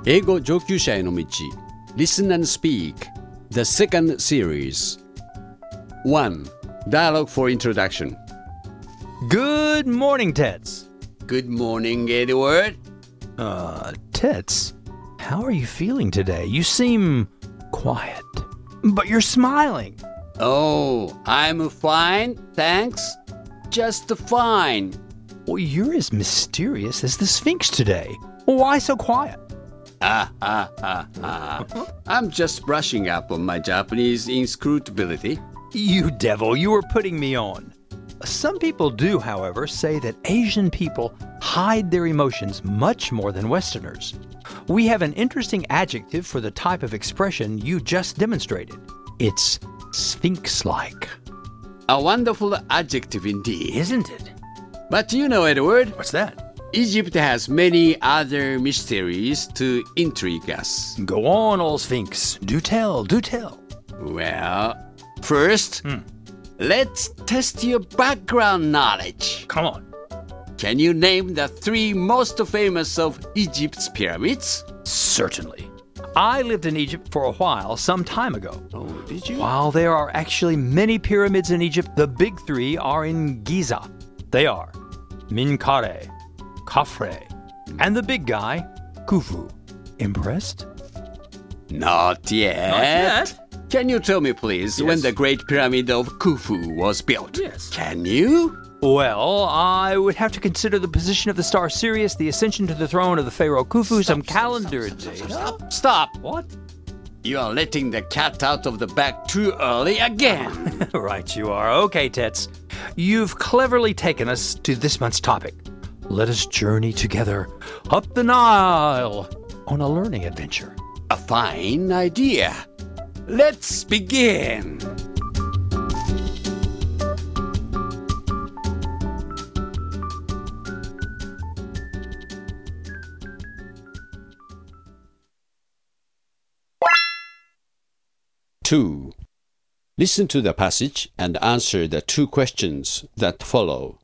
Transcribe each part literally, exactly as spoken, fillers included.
英語上級者への道 Listen and Speak The second series ワン Dialogue for Introduction Good morning, Tets. Good morning, Edward. Uh, Tets, how are you feeling today? You seem quiet, but you're smiling. Oh, I'm fine, thanks. Just fine. Well, you're as mysterious as the Sphinx today. Why so quiet? Ah, ah, ah, ah. I'm just brushing up on my Japanese inscrutability. You devil, you were putting me on. Some people do, however, say that Asian people hide their emotions much more than Westerners. We have an interesting adjective for the type of expression you just demonstrated. It's Sphinx-like. A wonderful adjective indeed. Isn't it? But you know, Edward, What's that? Egypt has many other mysteries to intrigue us. Go on, old Sphinx. Do tell, do tell. Well, first, Hmm. let's test your background knowledge. Come on. Can you name the three most famous of Egypt's pyramids? Certainly. I lived in Egypt for a while, some time ago. Oh, did you? While there are actually many pyramids in Egypt, the big three are in Giza. They are Menkaure, Khafre, and the big guy, Khufu. Impressed? Not yet. Not yet? Can you tell me, please, Yes. when the Great Pyramid of Khufu was built? Yes. Can you? Well, I would have to consider the position of the star Sirius, the ascension to the throne of the pharaoh Khufu, some calendar data. Stop, stop. What? You are letting the cat out of the bag too early again. Right you are. Okay, Tets. You've cleverly taken us to this month's topic. Let us journey together up the Nile on a learning adventure. A fine idea. Let's begin. Two. Listen to the passage and answer the two questions that follow.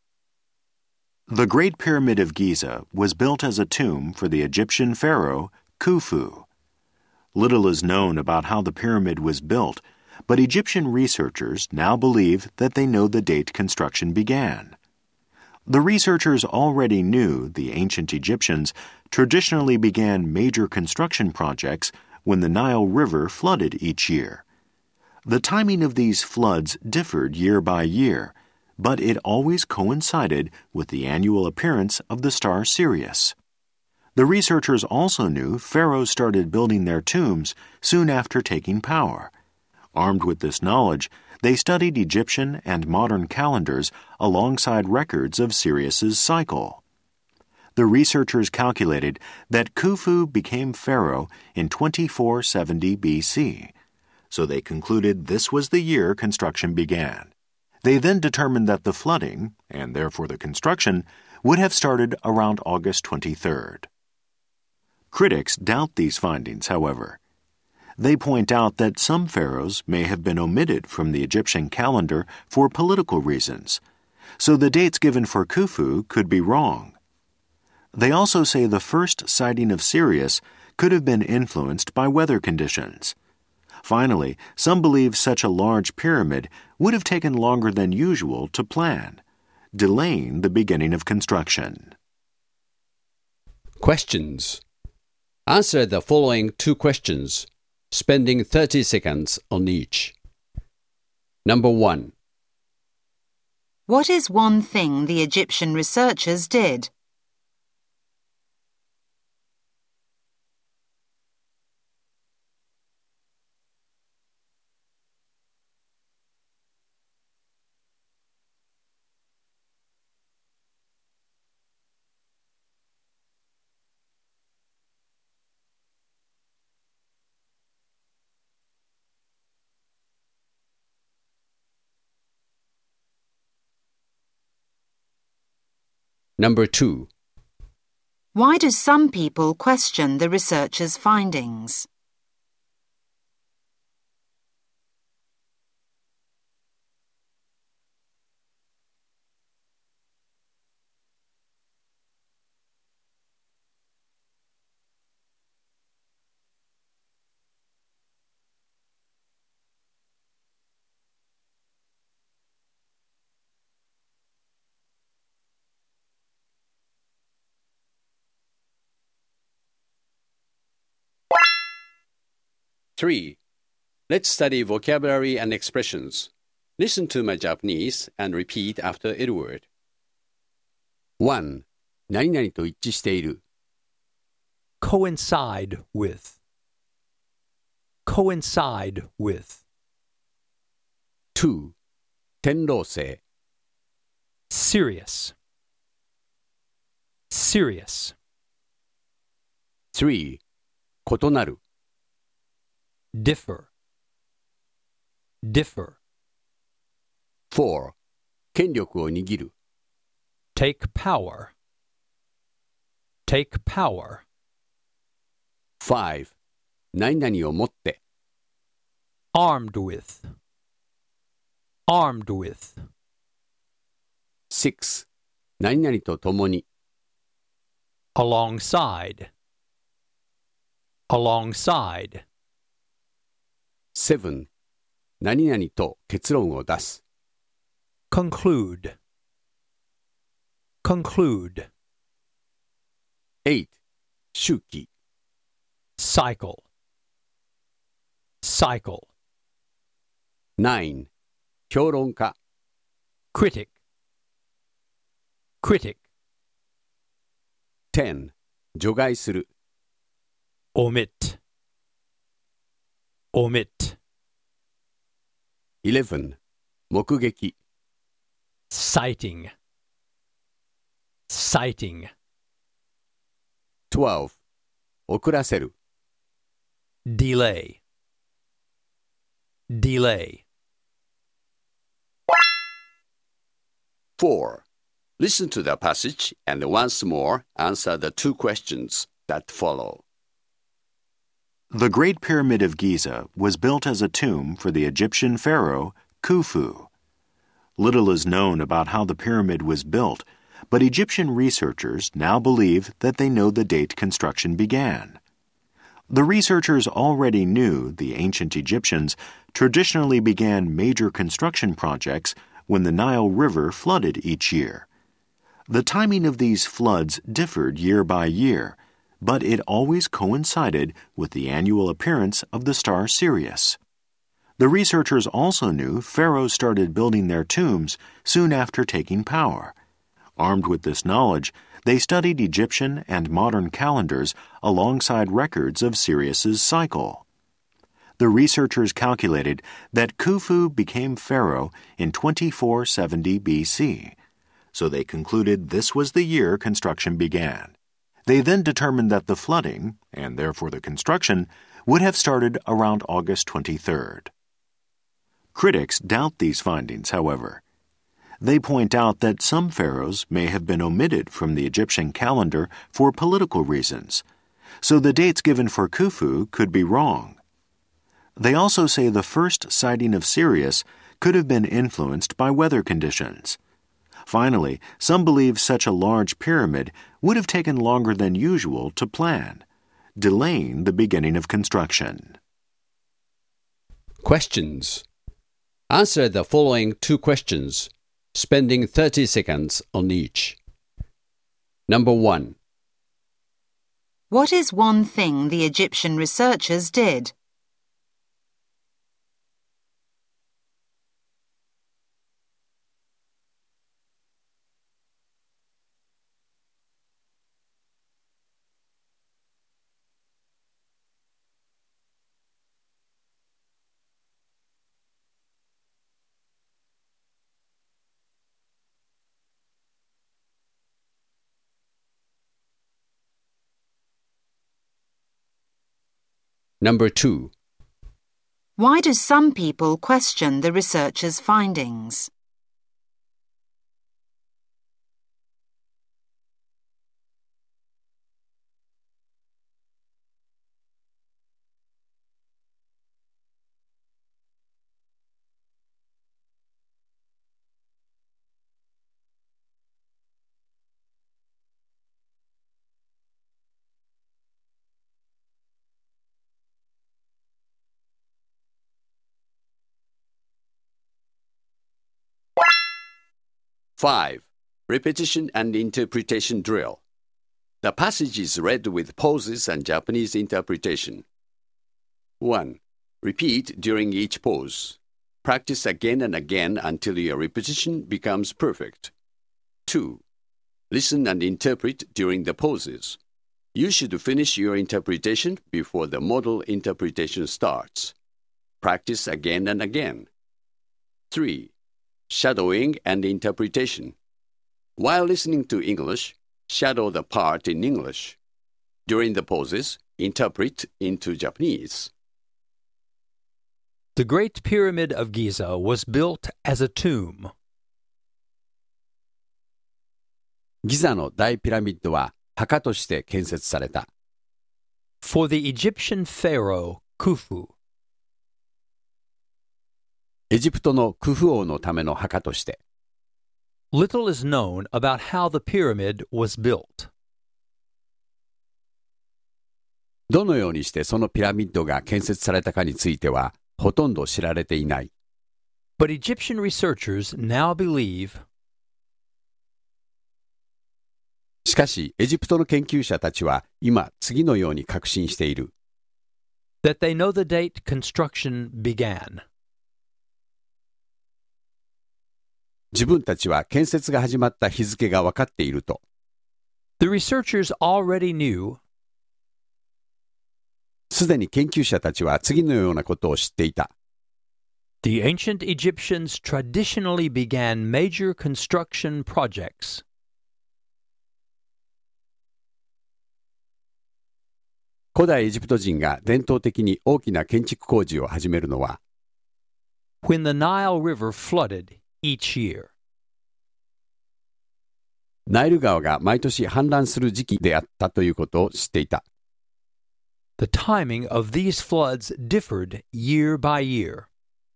The Great Pyramid of Giza was built as a tomb for the Egyptian pharaoh Khufu. Little is known about how the pyramid was built, but Egyptian researchers now believe that they know the date construction began. The researchers already knew the ancient Egyptians traditionally began major construction projects when the Nile River flooded each year. The timing of these floods differed year by year, but it always coincided with the annual appearance of the star Sirius. The researchers also knew pharaohs started building their tombs soon after taking power. Armed with this knowledge, they studied Egyptian and modern calendars alongside records of Sirius's cycle. The researchers calculated that Khufu became pharaoh in twenty-four seventy B C, so they concluded this was the year construction began. They then determined that the flooding, and therefore the construction, would have started around August twenty-third. Critics doubt these findings, however. They point out that some pharaohs may have been omitted from the Egyptian calendar for political reasons, so the dates given for Khufu could be wrong. They also say the first sighting of Sirius could have been influenced by weather conditions. Finally, some believe such a large pyramid would have taken longer than usual to plan, delaying the beginning of construction. Questions. Answer the following two questions, spending thirty seconds on each. Number one. What is one thing the Egyptian researchers did? Number two. Why do some people question the researchers' findings? three. Let's study vocabulary and expressions. Listen to my Japanese and repeat after Edward. one. 何々と一致している。 coincide with, coincide with. two. 天狼星。 serious, serious. three. 異なる。 differ, differ. four. 権力を握る。 take power, take power. five. 何々を持って。 armed with, armed with. six. 何々と共に。 alongside, alongside. seven. 何々と結論を出す。 conclude, conclude. eight. 周期。 cycle, cycle. nine. 評論家。 critic, critic. ten. 除外する。 omit, omit. eleven. 目撃。 sighting, sighting. twelve. 遅らせる。 delay, delay. four. Listen to the passage and once more answer the two questions that follow. The Great Pyramid of Giza was built as a tomb for the Egyptian pharaoh Khufu. Little is known about how the pyramid was built, but Egyptian researchers now believe that they know the date construction began. The researchers already knew the ancient Egyptians traditionally began major construction projects when the Nile River flooded each year. The timing of these floods differed year by year, but it always coincided with the annual appearance of the star Sirius. The researchers also knew pharaohs started building their tombs soon after taking power. Armed with this knowledge, they studied Egyptian and modern calendars alongside records of Sirius's cycle. The researchers calculated that Khufu became pharaoh in twenty-four seventy B C, so they concluded this was the year construction began. They then determined that the flooding, and therefore the construction, would have started around August twenty-third. Critics doubt these findings, however. They point out that some pharaohs may have been omitted from the Egyptian calendar for political reasons, so the dates given for Khufu could be wrong. They also say the first sighting of Sirius could have been influenced by weather conditions. Finally, some believe such a large pyramid would have taken longer than usual to plan, delaying the beginning of construction. Questions. Answer the following two questions, spending thirty seconds on each. Number one. What is one thing the Egyptian researchers did? Number two. Why do some people question the researchers' findings? five. Repetition and interpretation drill. The passage is read with pauses and Japanese interpretation. one. Repeat during each pose. Practice again and again until your repetition becomes perfect. two. Listen and interpret during the poses. You should finish your interpretation before the model interpretation starts. Practice again and again. three. Shadowing and interpretation. While listening to English, shadow the part in English. During the poses, interpret into Japanese. The Great Pyramid of Giza was built as a tomb. ギザの大ピラミッドは墓として建設された。 For the Egyptian pharaoh Khufu. エジプトのクフ王のための墓として。 Little is known about how the pyramid was built. どのようにしてそのピラミッドが建設されたかについてはほとんど知られていない。 But Egyptian researchers now believe しかし、エジプトの研究者たちは今次のように確信している。 that they know the date construction began. 自分たちは建設が始まった日付が分かっていると。 The researchers already knew すでに研究者たちは次のようなことを知っていた。 the ancient Egyptians traditionally began major construction projects. 古代エジプト人が伝統的に大きな建築工事を始めるのは、 when the Nile River flooded each year. ナイル川が毎年氾濫する時期であったということを知っていた。 The timing of these floods differed year by year.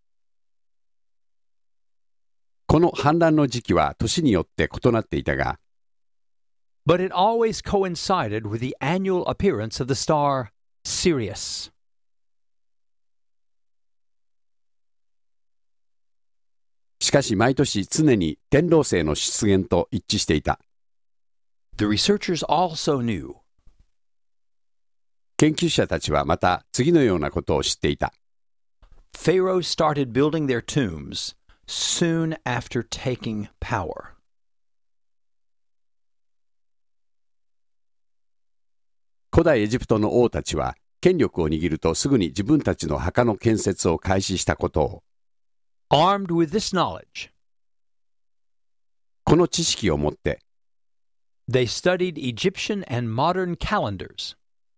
この氾濫の時期は年によって異なっていたが、 But it always coincided with the annual appearance of the star Sirius. しかし毎年常に天王星の出現と一致していた。 The researchers also knew 研究者たちはまた次のようなことを知っていた。 pharaohs started building their tombs soon after taking power. 古代エジプトの王たちは権力を握るとすぐに自分たちの墓の建設を開始したことを。 Armed with this knowledge, この知識を持って、 they studied Egyptian and modern calendars.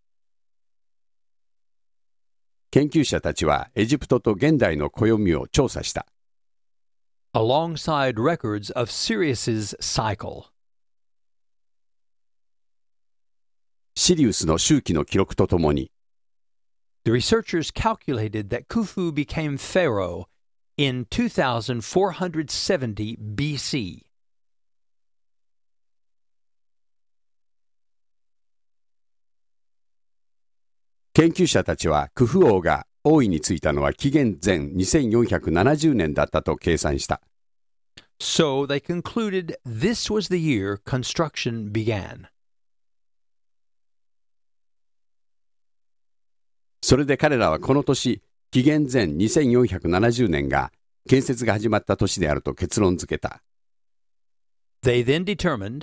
研究者たちはエジプトと現代の暦を調査した。 alongside records of Sirius's cycle. シリウスの周期の記録とともに、 The researchers calculated that Khufu became pharaoh in two thousand four hundred seventy B C. 研究者たちはクフ王が王位に就いたのは紀元前にせんよんひゃくななじゅうねんだったと計算した。 So they concluded this was the year construction began. それで彼らはこの年、紀元前にせんよんひゃくななじゅうねんが建設が始まった年であると結論付けた。 They then determined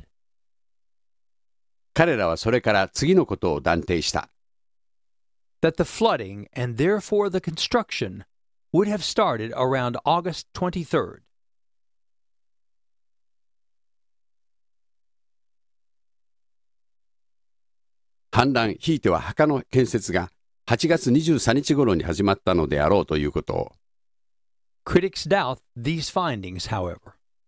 彼らはそれから次のことを断定した。 that the flooding and therefore the construction would have started around August twenty-third. 氾濫ひいては墓の建設がはちがつにじゅうさんにち頃に始まったのであろうということを。 Critics doubt these findings, however.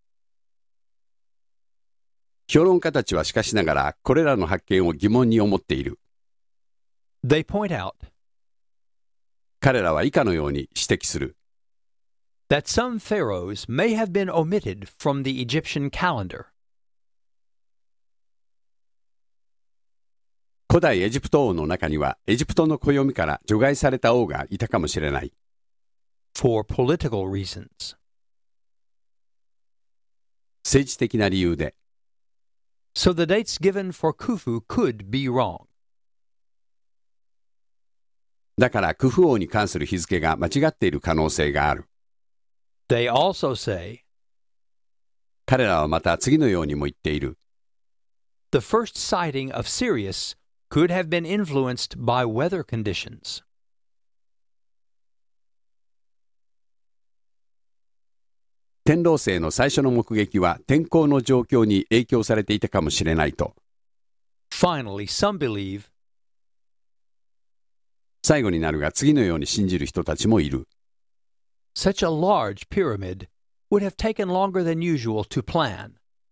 評論家たちはしかしながらこれらの発見を疑問に思っている。 They point out 彼らは以下のように指摘する。 that some pharaohs may have been omitted from the Egyptian calendar. 古代エジプト王の中にはエジプトの暦から除外された王がいたかもしれない。 for political reasons. 政治的な理由で。 So the dates given for Khufu could be wrong. だからクフ王に関する日付が間違っている可能性がある。 They also say, 彼らはまた次のようにも言っている。 the first sighting of Sirius could have been influenced by weather conditions. 天狼星の最初の目撃は天候の状況に影響されていたかもしれないと。 Finally, some believe, 最後になるが次のように信じる人たちもいる。 such a large pyramid would have taken longer than usual to plan.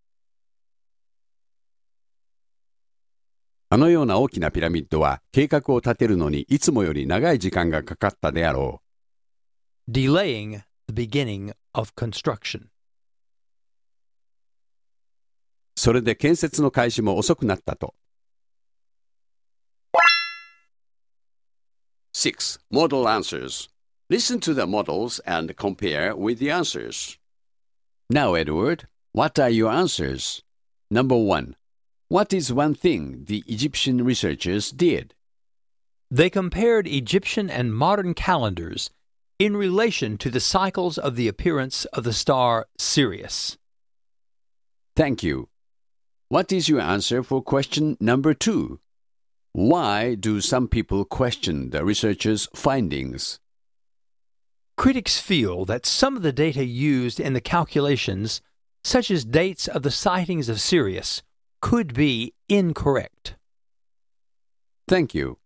あのような大きなピラミッドは計画を立てるのにいつもより長い時間がかかったであろう。 delaying the beginning of construction. それで建設の開始も遅くなったと。six. Model answers. Listen to the models and compare with the answers. Now, Edward, what are your answers? Number one. What is one thing the Egyptian researchers did? They compared Egyptian and modern calendars in relation to the cycles of the appearance of the star Sirius. Thank you. What is your answer for question number two? Why do some people question the researchers' findings? Critics feel that some of the data used in the calculations, such as dates of the sightings of Sirius, could be incorrect. Thank you.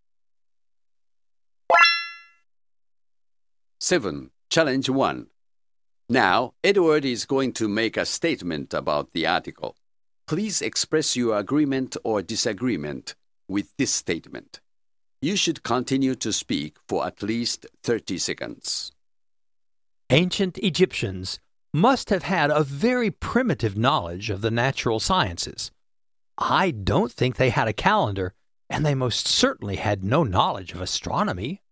seven. Challenge one. Now, Edward is going to make a statement about the article. Please express your agreement or disagreement with this statement. You should continue to speak for at least thirty seconds. Ancient Egyptians must have had a very primitive knowledge of the natural sciences. I don't think they had a calendar, and they most certainly had no knowledge of astronomy.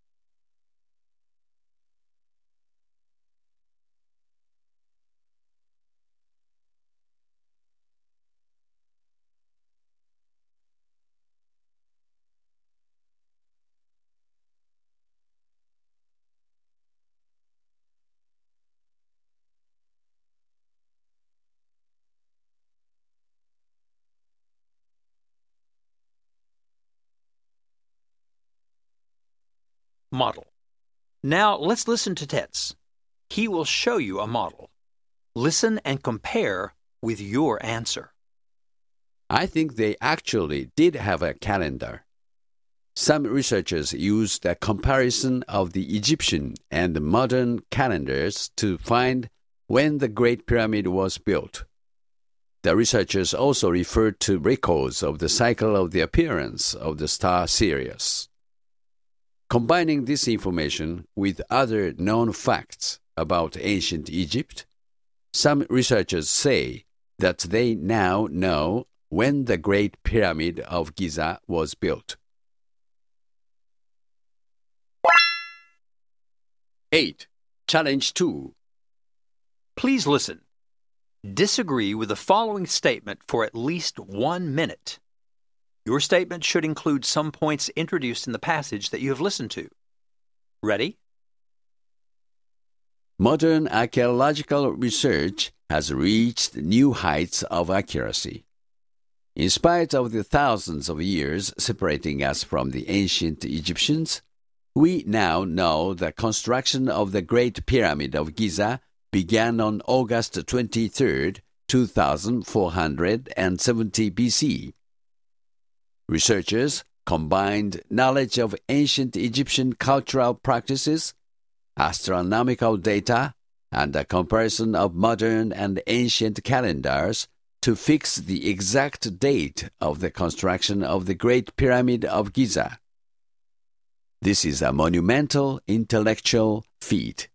Model. Now let's listen to Tetz. He will show you a model. Listen and compare with your answer. I think they actually did have a calendar. Some researchers used a comparison of the Egyptian and modern calendars to find when the Great Pyramid was built. The researchers also referred to records of the cycle of the appearance of the star Sirius. Combining this information with other known facts about ancient Egypt, some researchers say that they now know when the Great Pyramid of Giza was built. eight. Challenge two. Please listen. Disagree with the following statement for at least one minute. Your statement should include some points introduced in the passage that you have listened to. Ready? Modern archaeological research has reached new heights of accuracy. In spite of the thousands of years separating us from the ancient Egyptians, we now know the construction of the Great Pyramid of Giza began on August twenty-third, two thousand four hundred seventy B C. Researchers combined knowledge of ancient Egyptian cultural practices, astronomical data, and a comparison of modern and ancient calendars to fix the exact date of the construction of the Great Pyramid of Giza. This is a monumental intellectual feat.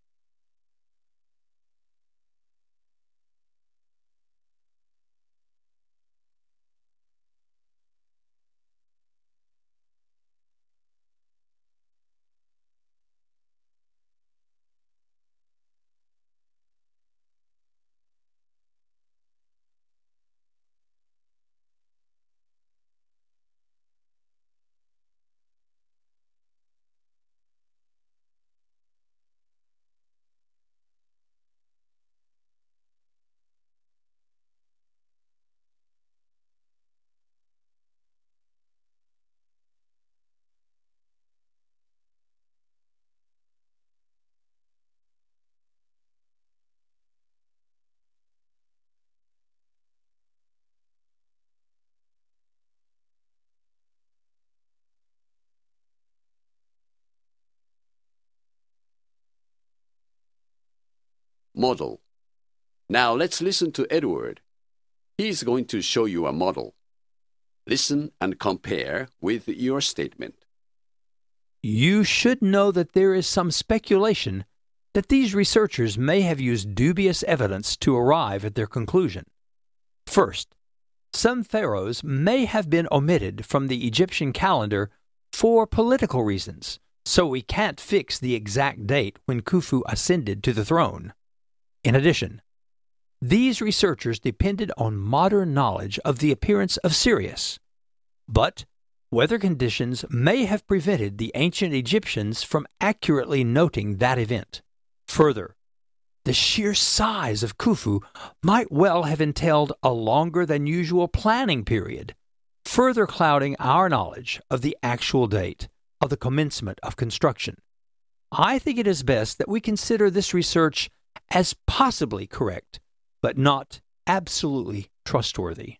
model. Now let's listen to Edward. He is going to show you a model. Listen and compare with your statement. You should know that there is some speculation that these researchers may have used dubious evidence to arrive at their conclusion. First, some pharaohs may have been omitted from the Egyptian calendar for political reasons, so we can't fix the exact date when Khufu ascended to the throne. In addition, these researchers depended on modern knowledge of the appearance of Sirius. But weather conditions may have prevented the ancient Egyptians from accurately noting that event. Further, the sheer size of Khufu might well have entailed a longer than usual planning period, further clouding our knowledge of the actual date of the commencement of construction. I think it is best that we consider this research as possibly correct, but not absolutely trustworthy.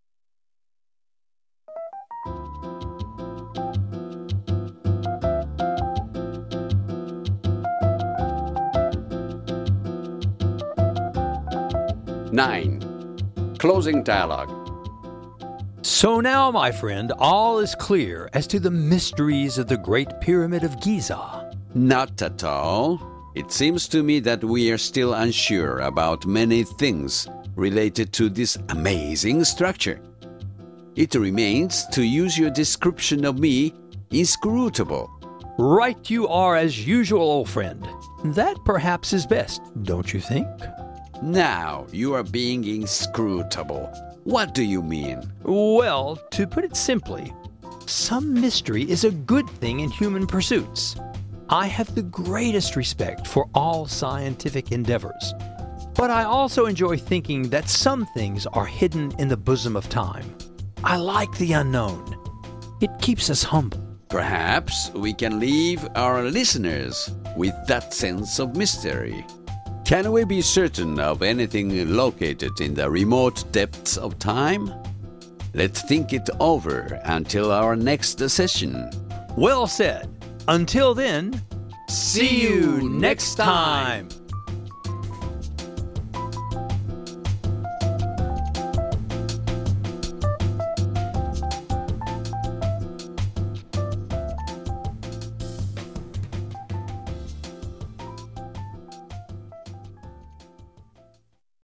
Nine. Closing dialogue. So now, my friend, all is clear as to the mysteries of the Great Pyramid of Giza. Not at all. It seems to me that we are still unsure about many things related to this amazing structure. It remains to use your description of me, inscrutable. Right you are as usual, old friend. That perhaps is best, don't you think? Now you are being inscrutable. What do you mean? Well, to put it simply, some mystery is a good thing in human pursuits. I have the greatest respect for all scientific endeavors, but I also enjoy thinking that some things are hidden in the bosom of time. I like the unknown. It keeps us humble. Perhaps we can leave our listeners with that sense of mystery. Can we be certain of anything located in the remote depths of time? Let's think it over until our next session. Well said. Until then, see you next time.